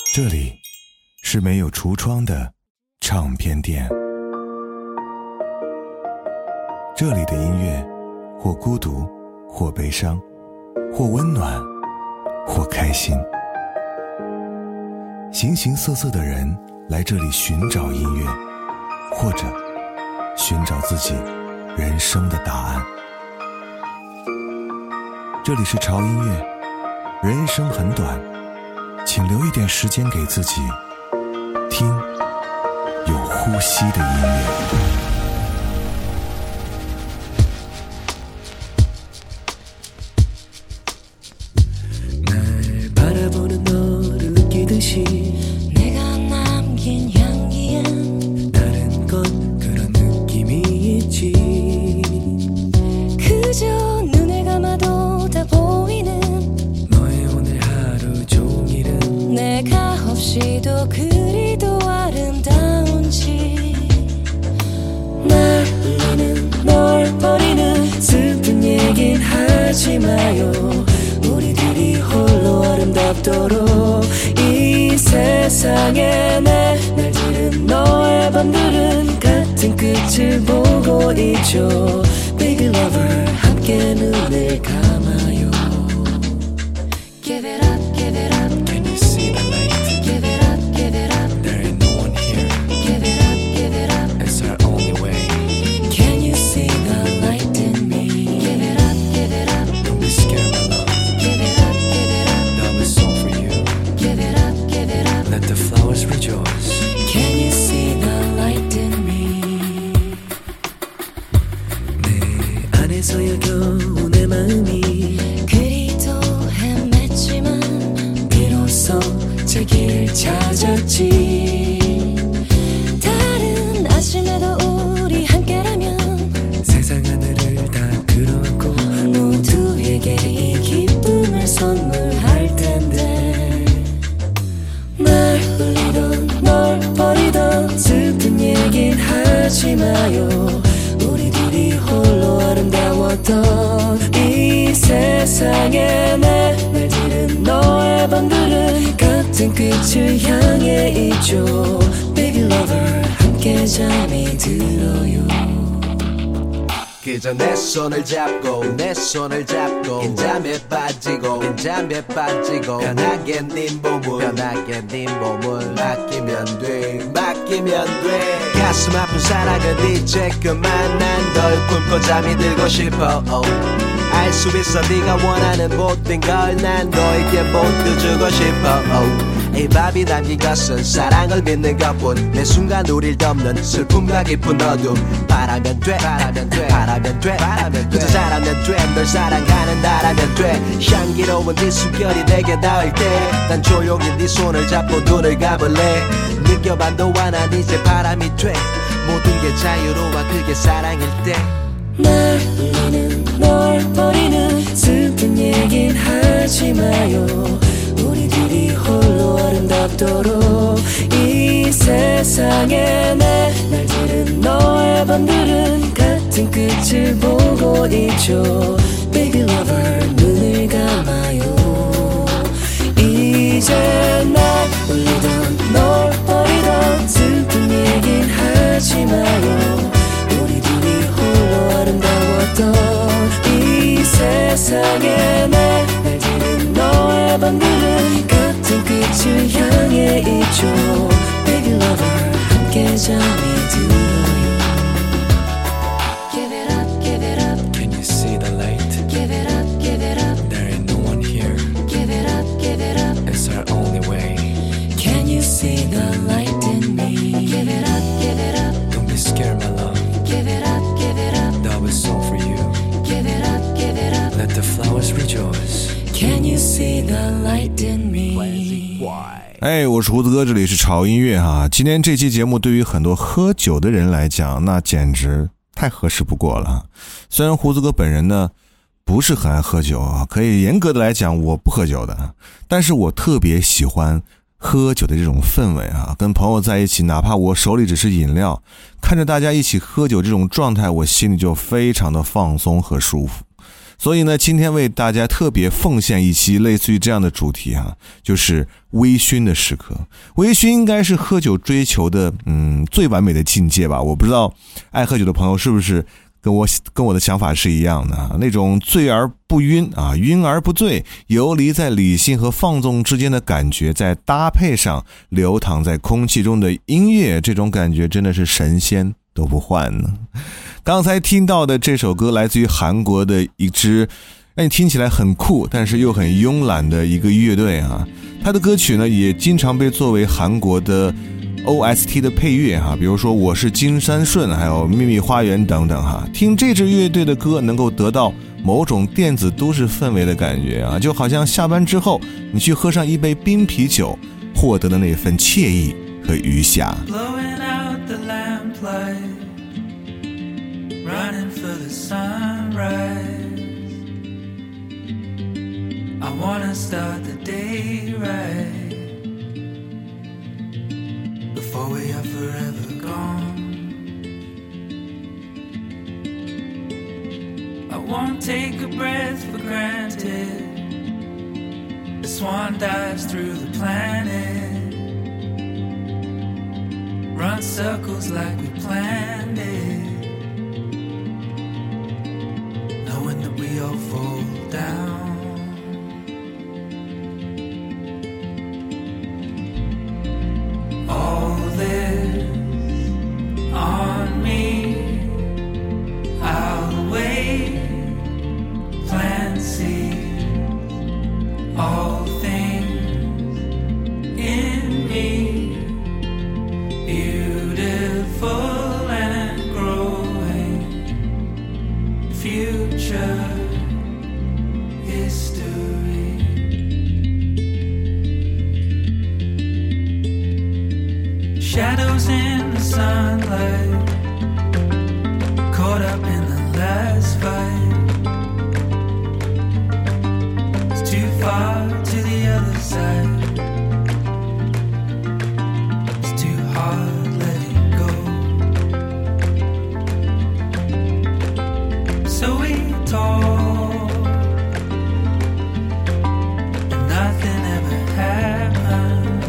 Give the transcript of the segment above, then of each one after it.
这里是没有橱窗的唱片店，这里的音乐或孤独，或悲伤，或温暖，或开心。形形色色的人来这里寻找音乐，或者寻找自己人生的答案。这里是潮音乐，人生很短，请留一点时间给自己，听有呼吸的音乐。 이 세상에 내 날들은 너의 밤들은 같은 끝을 보고 있죠. Big lover 함께 눈을 감아요. Give it up, give it up. Can you see the light? Give it up, give it up. There ain't no one here. Give it up, give it up. It's our only way. Can you see the light in me? Give it up, give it up. Don't be scared, my love. Give it up, give it up. Love is all for you. Give it up, give it up. Let the flowers rejoice. Can you see the light in me? 내 안에서 여겨오 내 마음이 그리도 헤맸지만 비로소 제 길을 찾았지. 다른 아침에도 우리 함께라면 세상 하늘을 다 끌어안고 모두에게 이 기쁨을 선물할 텐데. 날 울리던 널 버리던 슬픈 얘긴 하지 마요. 우리 둘이 홀로 아름다웠던 이 세상에 내 날들은 너의 밤들은 같은 끝을 향해 있죠. Baby lover 함께 잠이 들어요. 그저 내 손을 잡고 내 손을 잡고 긴장에 빠지고 긴장에 빠지고 편하게 네 몸을 맡기면 돼 맡기면 돼. 가슴 아픈 사랑은 이제 그만 난 널 꿈꿔 잠이 들고 싶어. 알 수 있어 네가 원하는 모든 걸 난 너에게 모두 주고 싶어. 이 밥이 담긴 것은 사랑을 믿는 것뿐. 내 순간 우릴 덮는 슬픔과 깊은 어둠. 바라면 돼 바라면 돼 바라면 돼 바라면 돼 그저 잘하면 돼. 널 사랑하는 나라면 돼. 향기로운 네 숨결이 내게 닿을 때 난 조용히 네 손을 잡고 눈을 감을래. 느껴봐도 난 이제 바람이 돼. 모든 게 자유로워 그게 사랑일 때. 날 울리는 널 버리는 슬픈 얘긴 하지 마요. 우리 둘이 홀로 아름답도록 이 세상에 내 날들은 너의 밤들은 같은 끝을 보고 있죠. Baby lover 눈을 감아요. 이제 날 울리던 널 버리던 슬픈 얘긴 하지 마요. 우리 둘이 홀로 아름다웠던 이 세상에 내 날들은 너의 밤들은 같은 끝을 향해 있죠. Baby lover 함께 잠이 들어요. Give it up, give it up. Can you see the light? Give it up, give it up. There ain't no one here. Give it up, give it up. It's our only way. Can you see the light in me? Give it up, give it up. Don't be scared, my love. Give it up, give it up. Love is all for you. Give it up, give it up. Let the flowers rejoice. Can you see the light in me? 我是胡子哥，这里是潮音乐哈。今天这期节目对于很多喝酒的人来讲，那简直太合适不过了。虽然胡子哥本人呢不是很爱喝酒啊，可以严格的来讲我不喝酒的，但是我特别喜欢喝酒的这种氛围啊，跟朋友在一起，哪怕我手里只是饮料，看着大家一起喝酒这种状态，我心里就非常的放松和舒服。 所以呢，今天为大家特别奉献一期类似于这样的主题啊，就是微醺的时刻。微醺应该是喝酒追求的最完美的境界吧。我不知道爱喝酒的朋友是不是跟我的想法是一样的，那种醉而不晕啊，晕而不醉，游离在理性和放纵之间的感觉，再搭配上流淌在空气中的音乐，这种感觉真的是神仙都不换呢。刚才听到的这首歌来自于韩国的一支让你听起来很酷但是又很慵懒的一个乐队啊，它的歌曲呢也经常被作为韩国的 OST 的配乐哈，比如说我是金山顺还有秘密花园等等哈。听这支乐队的歌能够得到某种电子都市氛围的感觉啊，就好像下班之后你去喝上一杯冰啤酒获得的那份惬意和余暇。 Blowing out the lamplight, running for the sunrise. I wanna start the day right before we are forever gone. I won't take a breath for granted. The swan dives through the planet, run circles like we planned it, knowing that we all fall down. All this on me, I'll wait, plant seeds, all things in me, beautiful and growing, future history. Shadows in the sunlight, caught up in the last fight. It's too far to the other side. It's too hard letting go. So we talk, and nothing ever happened.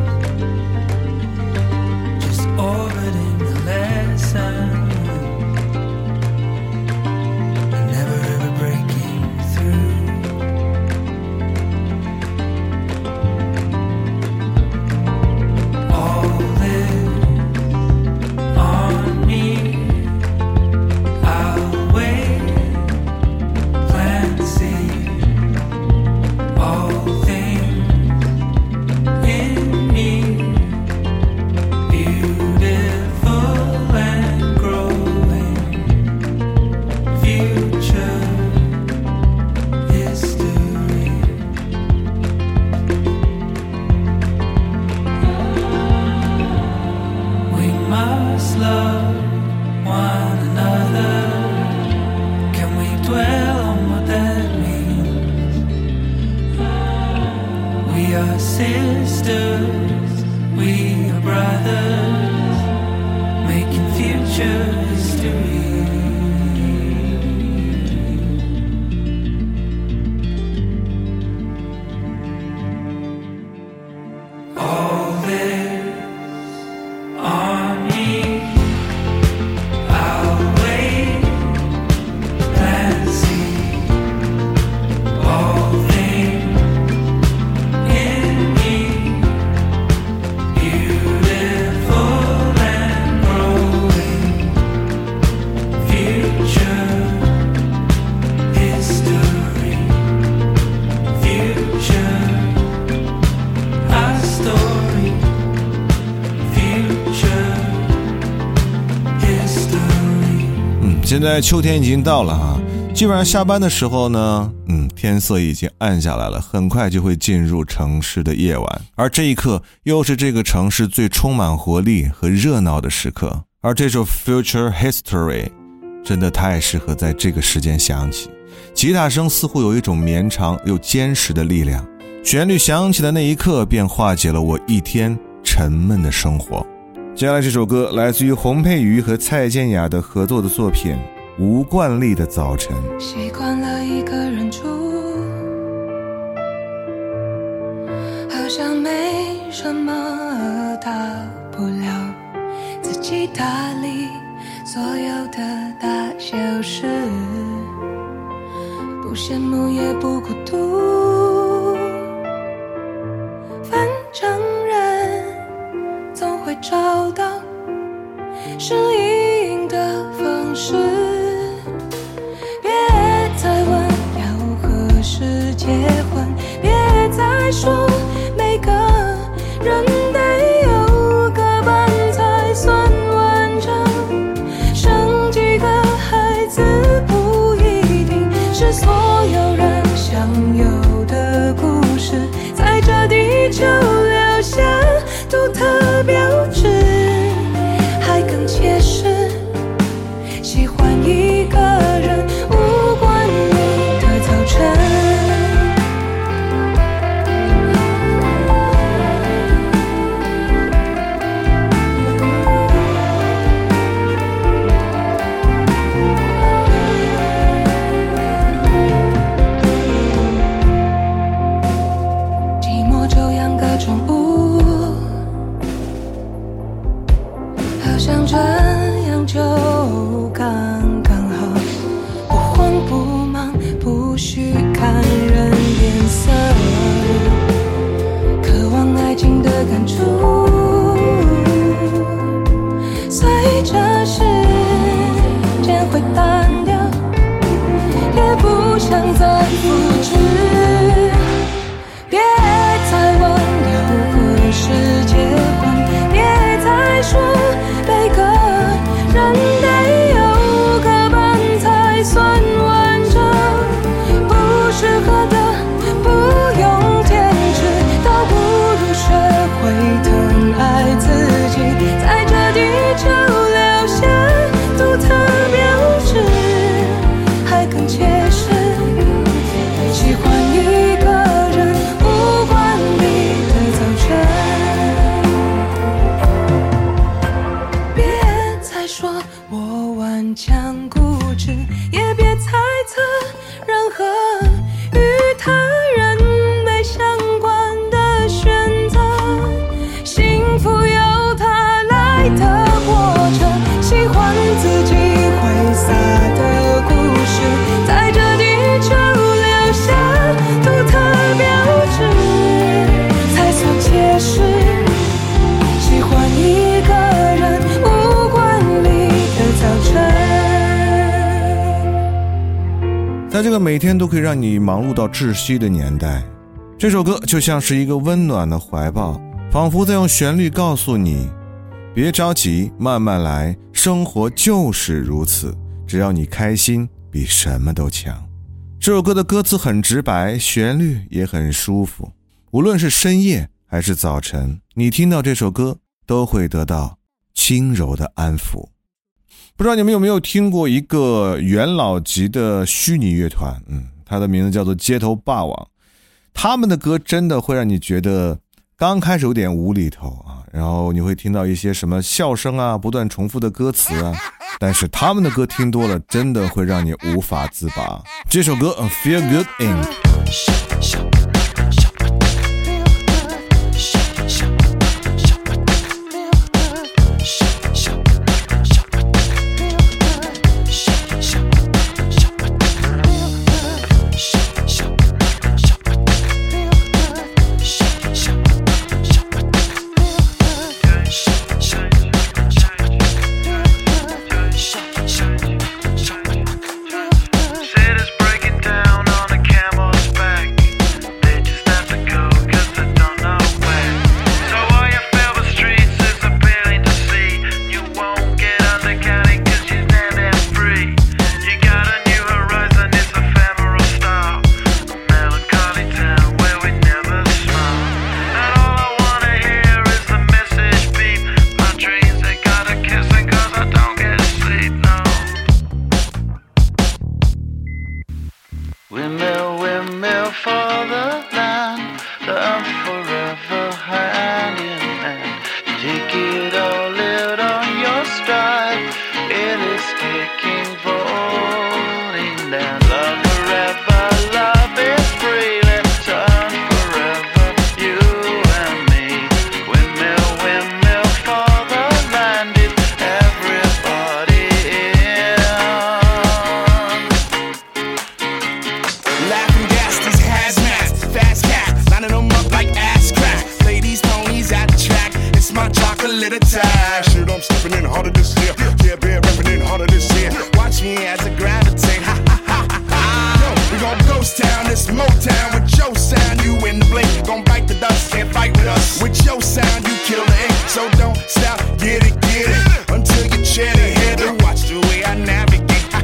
Just orbiting the lesson, and never ever breaking through. All this on me, I'll wait, plant seeds, all things in me, beautiful and growing, future history. We must love one another. Can we dwell on what that means? We are sisters, we are brothers, making future history. All this on me, I'll wait, plant seeds, all things in me, beautiful and growing, future history, future our story, future history. 现在秋天已经到了哈，基本上下班的时候呢，天色已经暗下来了，很快就会进入城市的夜晚，而这一刻又是这个城市最充满活力和热闹的时刻。而这首 Future History 真的太适合在这个时间响起，吉他声似乎有一种绵长又坚实的力量，旋律响起的那一刻便化解了我一天沉闷的生活。接下来这首歌来自于洪佩瑜和蔡健雅的合作的作品吴冠丽的早晨。 习惯了一个人住，好像没什么大不了，自己打理所有的大小事，不羡慕也不孤独，反正人总会找到适应的方式。别再问要何时结婚，别再说每个人得有个伴才算完整，生几个孩子不一定是所有人想有的故事，在这地球留下独特标志，还更切实喜欢一个人无关你的早晨。寂寞就养个宠物，好像这样就刚刚好，不慌不忙，不需看人脸色，渴望爱情的感触，随着时间会淡掉，也不想再复制。别再问要何时结婚，别再说每个人得有个伴才算完整，不适合的不用坚持，倒不如学会疼爱自己，在这地球留下独特标志，还更切实喜欢一个人无关你的早晨。别再说我顽强固执，也别猜测任何与他人没相关的选择，幸福由他来的过程，喜欢自己挥洒的故事，在这地球留下独特标志，才算切实喜欢一个人无关你的早晨。 在这个每天都可以让你忙碌到窒息的年代，这首歌就像是一个温暖的怀抱，仿佛在用旋律告诉你，别着急，慢慢来，生活就是如此，只要你开心，比什么都强。这首歌的歌词很直白，旋律也很舒服，无论是深夜还是早晨，你听到这首歌都会得到轻柔的安抚。不知道你们有没有听过一个元老级的虚拟乐团，它的名字叫做街头霸王。他们的歌真的会让你觉得刚开始有点无厘头啊，然后你会听到一些什么笑声啊，不断重复的歌词啊，但是他们的歌听多了真的会让你无法自拔。这首歌 Feel Good Inc。 Take it all out on your stride. It is taking for a little time. Shit, I'm stepping in harder this year. Yeah, been rapping in harder this year. Watch me as I gravitate. Ha ha ha ha. Yo, we gon' ghost town, this Motown with your sound. You in the blink, gon' bite the dust, can't fight with us. With your sound, you kill the ink, so don't stop, get it, until you chat ahead and watch the way I navigate.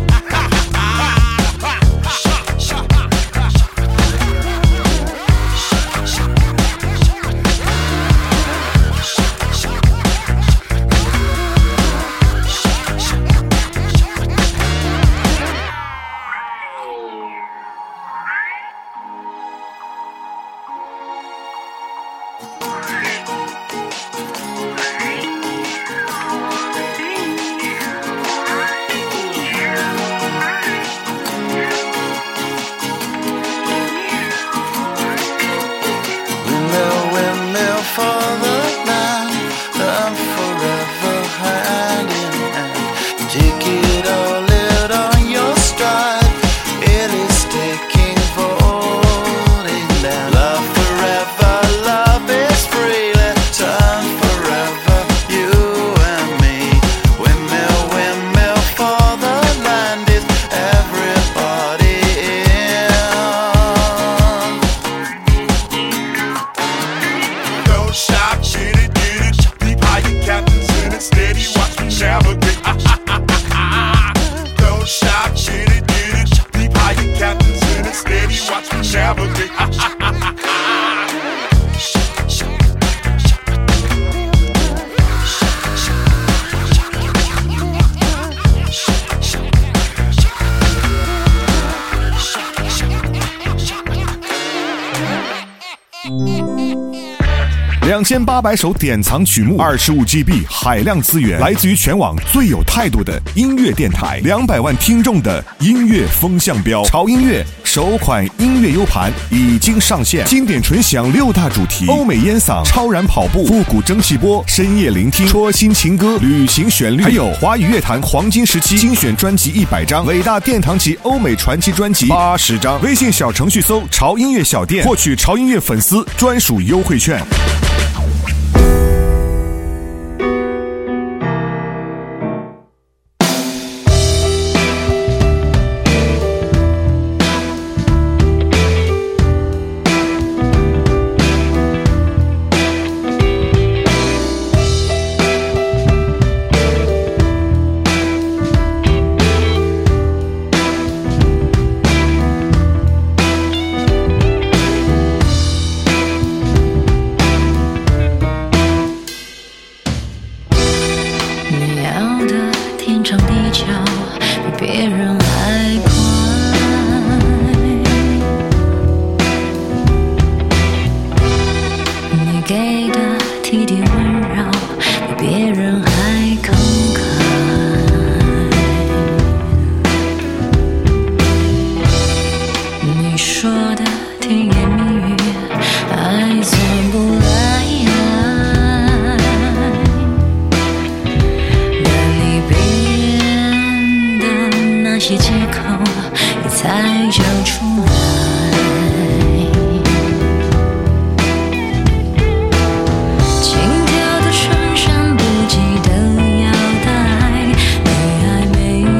2800首典藏曲目，25GB 海量资源，来自于全网最有态度的音乐电台，200万听众的音乐风向标。潮音乐首款音乐 U 盘已经上线，经典纯享6大主题：欧美烟嗓、超燃跑步、复古蒸汽波、深夜聆听、戳心情歌、旅行旋律，还有华语乐坛黄金时期精选专辑100张，伟大殿堂级欧美传奇专辑80张。微信小程序搜潮音乐小店，获取潮音乐粉丝专属优惠券。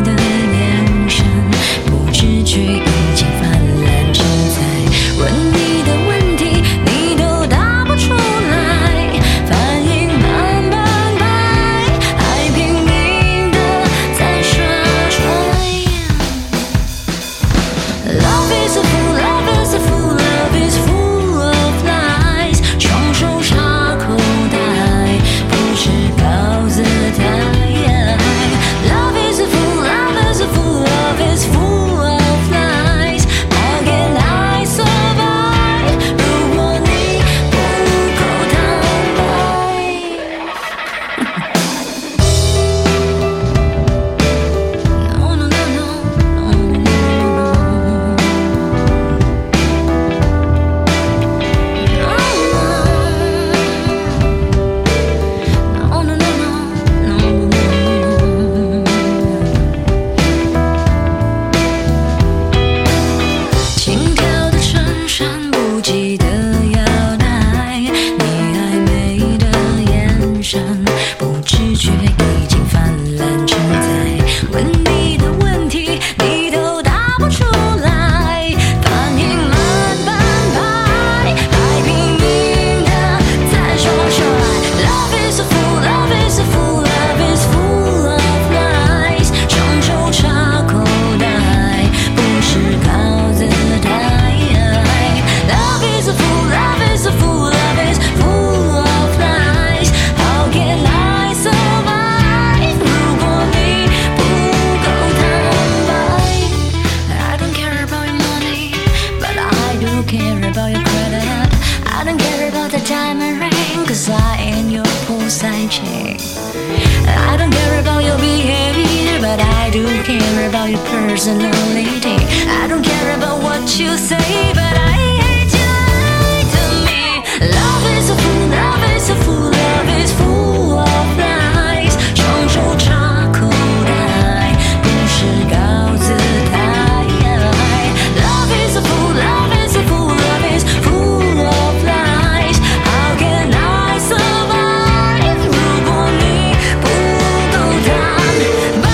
问你 about your credit. I don't care about the diamond ring, cause I ain't your poolside chick. I don't care about your behavior, but I do care about your personality. I don't care about what you say, but I hate you lie to me. Love is a fool, love is a fool, love is full of lies. 双手插口袋，不是高姿态。Love is a fool, love is a fool, love is full of lies. How can I survive? 如果你不够坦白。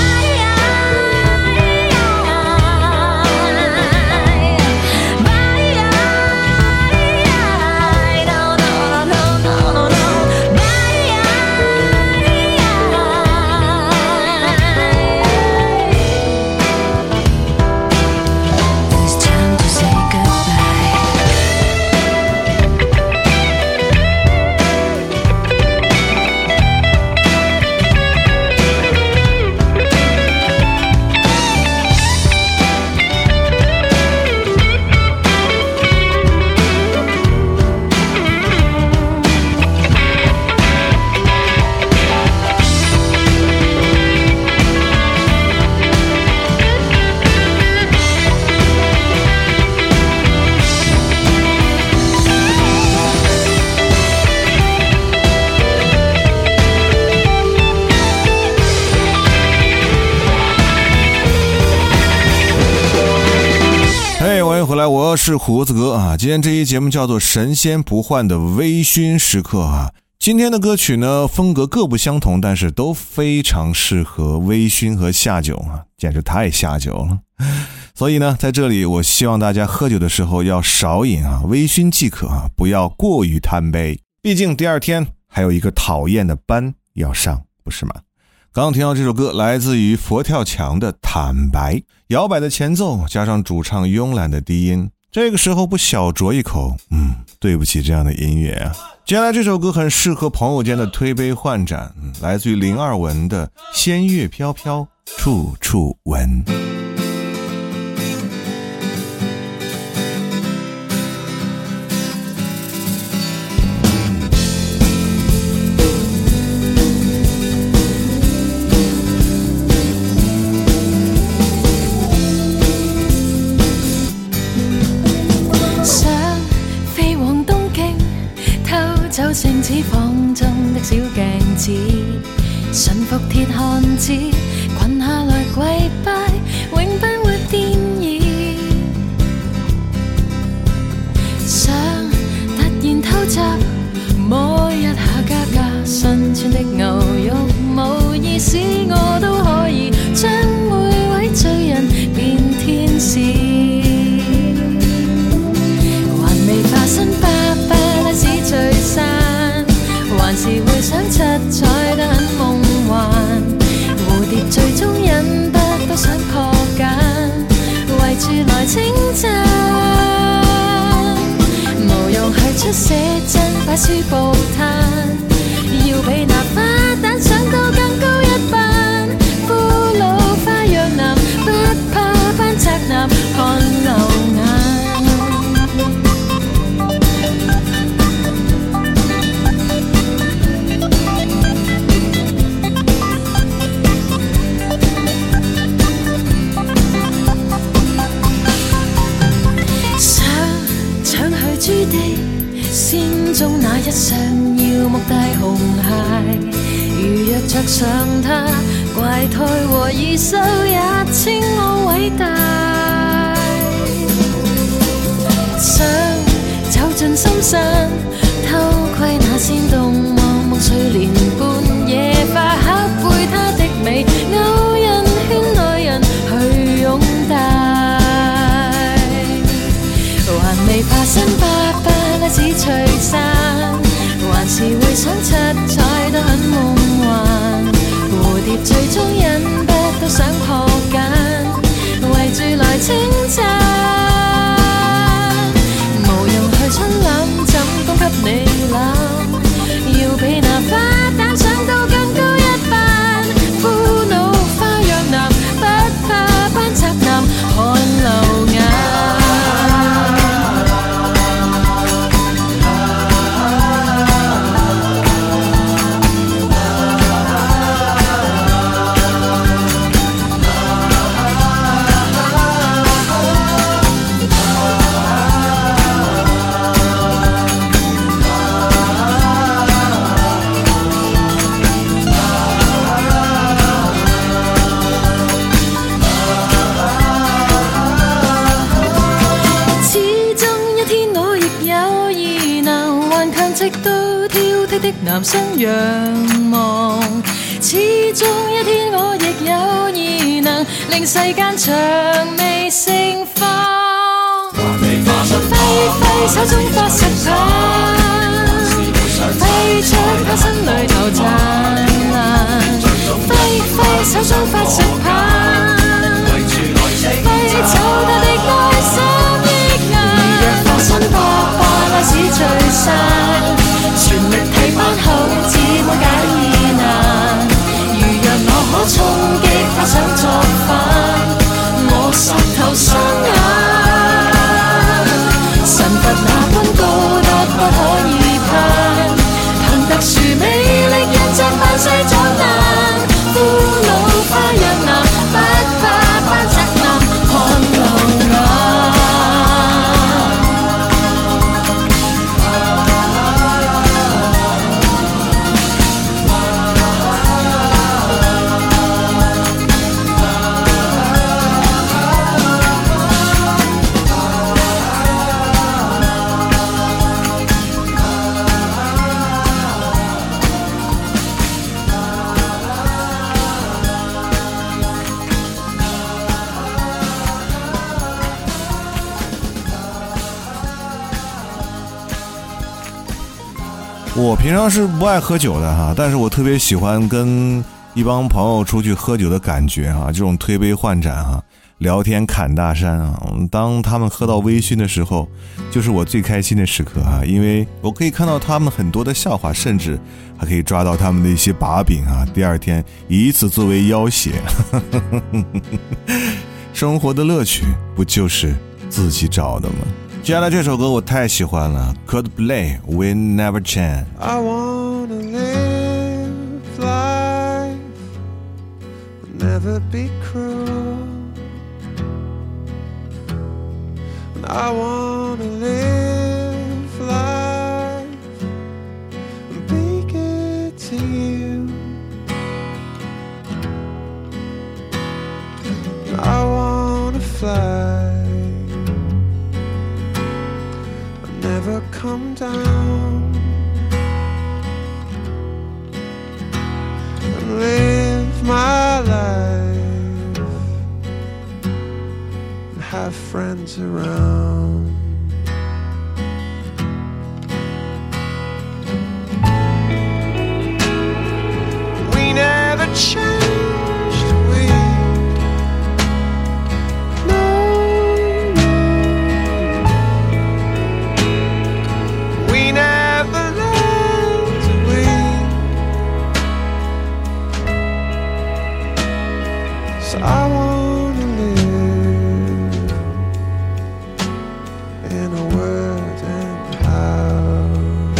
我是胡子哥啊，今天这一节目叫做神仙不换的微醺时刻啊。今天的歌曲呢，风格各不相同，但是都非常适合微醺和下酒啊，简直太下酒了。所以呢，在这里我希望大家喝酒的时候要少饮啊，微醺即可啊，不要过于贪杯。毕竟第二天还有一个讨厌的班要上，不是吗？刚刚听到这首歌来自于佛跳墙的坦白，摇摆的前奏加上主唱慵懒的低音，这个时候不小酌一口，对不起这样的音乐啊。接下来这首歌很适合朋友间的推杯换盏，来自于零二文的仙乐飘飘，处处闻。 星子房中的小鏡子，馴服鐵漢子，裙下來跪拜，永不會變異。想突然偷襲，摸一下家家新穿的牛肉，無意使我都可以將每位罪人變天使。還未化身爸爸那是聚散，還是會想七彩得很夢幻，蝴蝶最終忍不都想破繭，圍住來稱讚，無用去出寫真擺書報攤，要比那花旦上到更高一班，俘虜花樣男不怕班宅男看流眼。朱地仙中那一雙耀目大紅鞋，如若着上它，怪胎和異獸也稱我偉大。想走進深山，偷窺那仙動望夢睡蓮半夜化，刻背它的美，勾引圈內人去擁戴。還未化身爸爸那紫翠衫，還是會想七彩都很夢幻，蝴蝶最終忍不都想破繭，圍住來稱讚，無用去春攬枕供給你攬，要比那花旦上到更高一班，俘虜花樣男不怕班宅男看流眼。 直到挑剔的男生仰望，始終一天我亦有異能，令世間薔薇盛放。揮揮手中發石棒，揮出他身裏頭燦爛。揮揮手中發石棒，揮走他的內心億壓。如若化身博霸拉史最細，全力替班後只會解疑難。如若我可衝擊他想作反，我實頭雙眼。神佛那般高得不可以攀，憑特殊魅力一隻半世長難，俘虜花樣男，不怕班宅男看路眼。 我平常是不爱喝酒的哈，但是我特别喜欢跟一帮朋友出去喝酒的感觉哈，这种推杯换盏哈，聊天侃大山啊。当他们喝到微醺的时候，就是我最开心的时刻哈，因为我可以看到他们很多的笑话，甚至还可以抓到他们的一些把柄啊，第二天以此作为要挟。生活的乐趣不就是自己找的吗？接下来这首歌我太喜欢了 Coldplay We Never Change。 I wanna live life, never be cruel. I wanna live life and be good to you. I wanna fly.Never come down and live my life and have friends around. We never changed.I wanna live in a wooden house.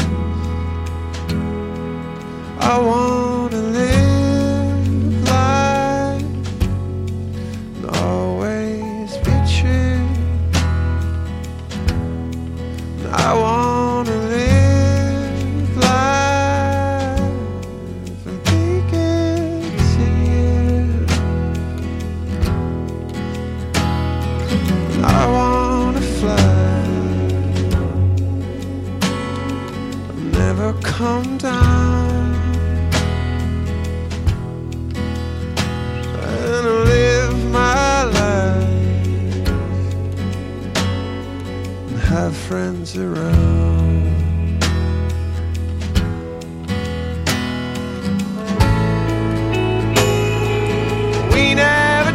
I wanna live life and always be true. I wanna live life and be good to you.I wanna fly, never come down, and live my life, and have friends around. We never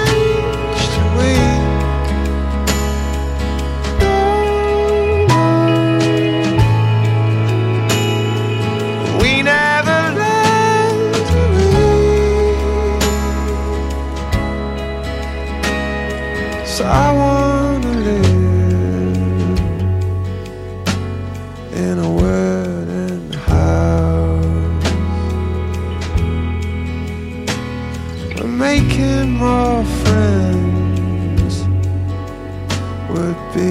changed.So I wanna live in a wooden house. We're making more friends would be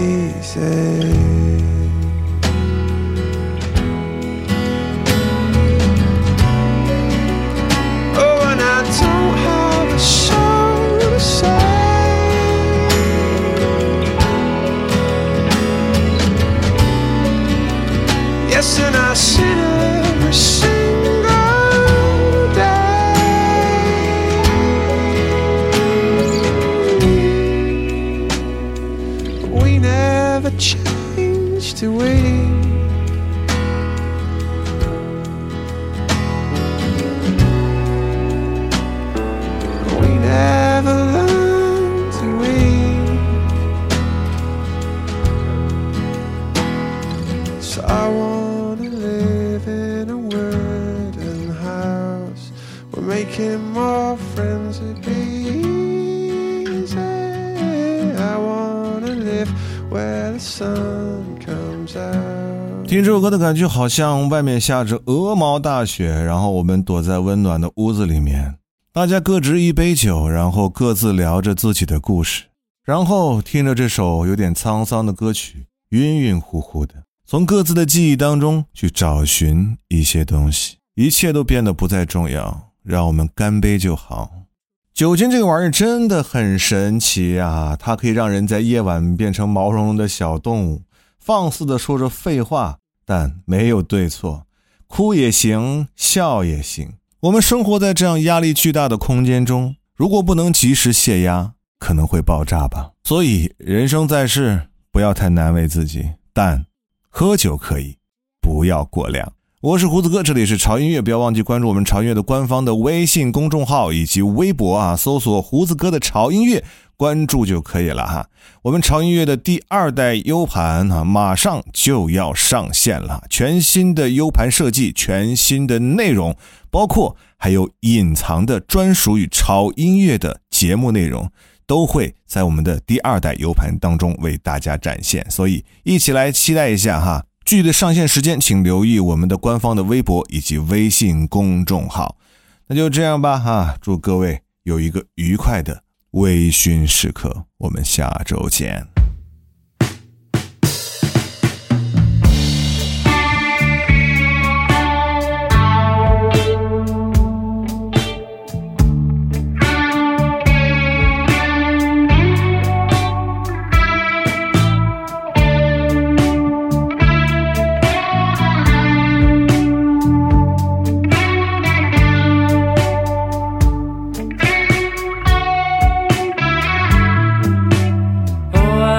easy.Oh, and I don't have a soul to say.Yes, never changed the way. We never learned to wait. So I wanna live in a wooden house. We're making more friends it'd be easy. I wanna live where the sun comes out. 听这首歌的感觉好像外面下着鹅毛大雪，然后我们躲在温暖的屋子里面，大家各执一杯酒，然后各自聊着自己的故事，然后听着这首有点沧桑的歌曲，晕晕乎乎的，从各自的记忆当中去找寻一些东西，一切都变得不再重要，让我们干杯就好。酒精这个玩意儿真的很神奇啊，它可以让人在夜晚变成毛茸茸的小动物，放肆地说着废话，但没有对错，哭也行，笑也行。我们生活在这样压力巨大的空间中，如果不能及时泄压，可能会爆炸吧。所以人生在世，不要太难为自己，但喝酒可以，不要过量。我是胡子哥，这里是潮音乐，不要忘记关注我们潮音乐的官方的微信公众号以及微博啊，搜索胡子哥的潮音乐，关注就可以了哈。我们潮音乐的第2代 U 盘啊，马上就要上线了，全新的 U 盘设计，全新的内容，包括还有隐藏的专属于潮音乐的节目内容，都会在我们的第2代 U 盘当中为大家展现，所以一起来期待一下哈。具体的上线时间请留意我们的官方的微博以及微信公众号。那就这样吧哈，祝各位有一个愉快的微醺时刻，我们下周见。 Oh,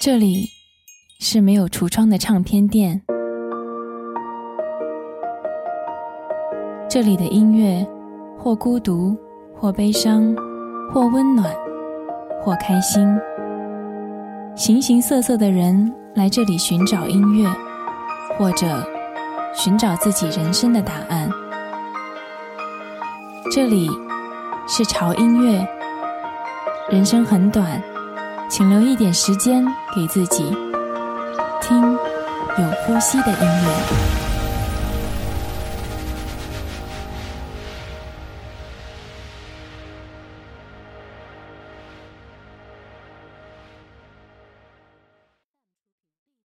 这里是没有橱窗的唱片店，这里的音乐或孤独，或悲伤，或温暖，或开心。形形色色的人来这里寻找音乐，或者寻找自己人生的答案。这里是潮音乐，人生很短，请留一点时间给自己，听有呼吸的音乐。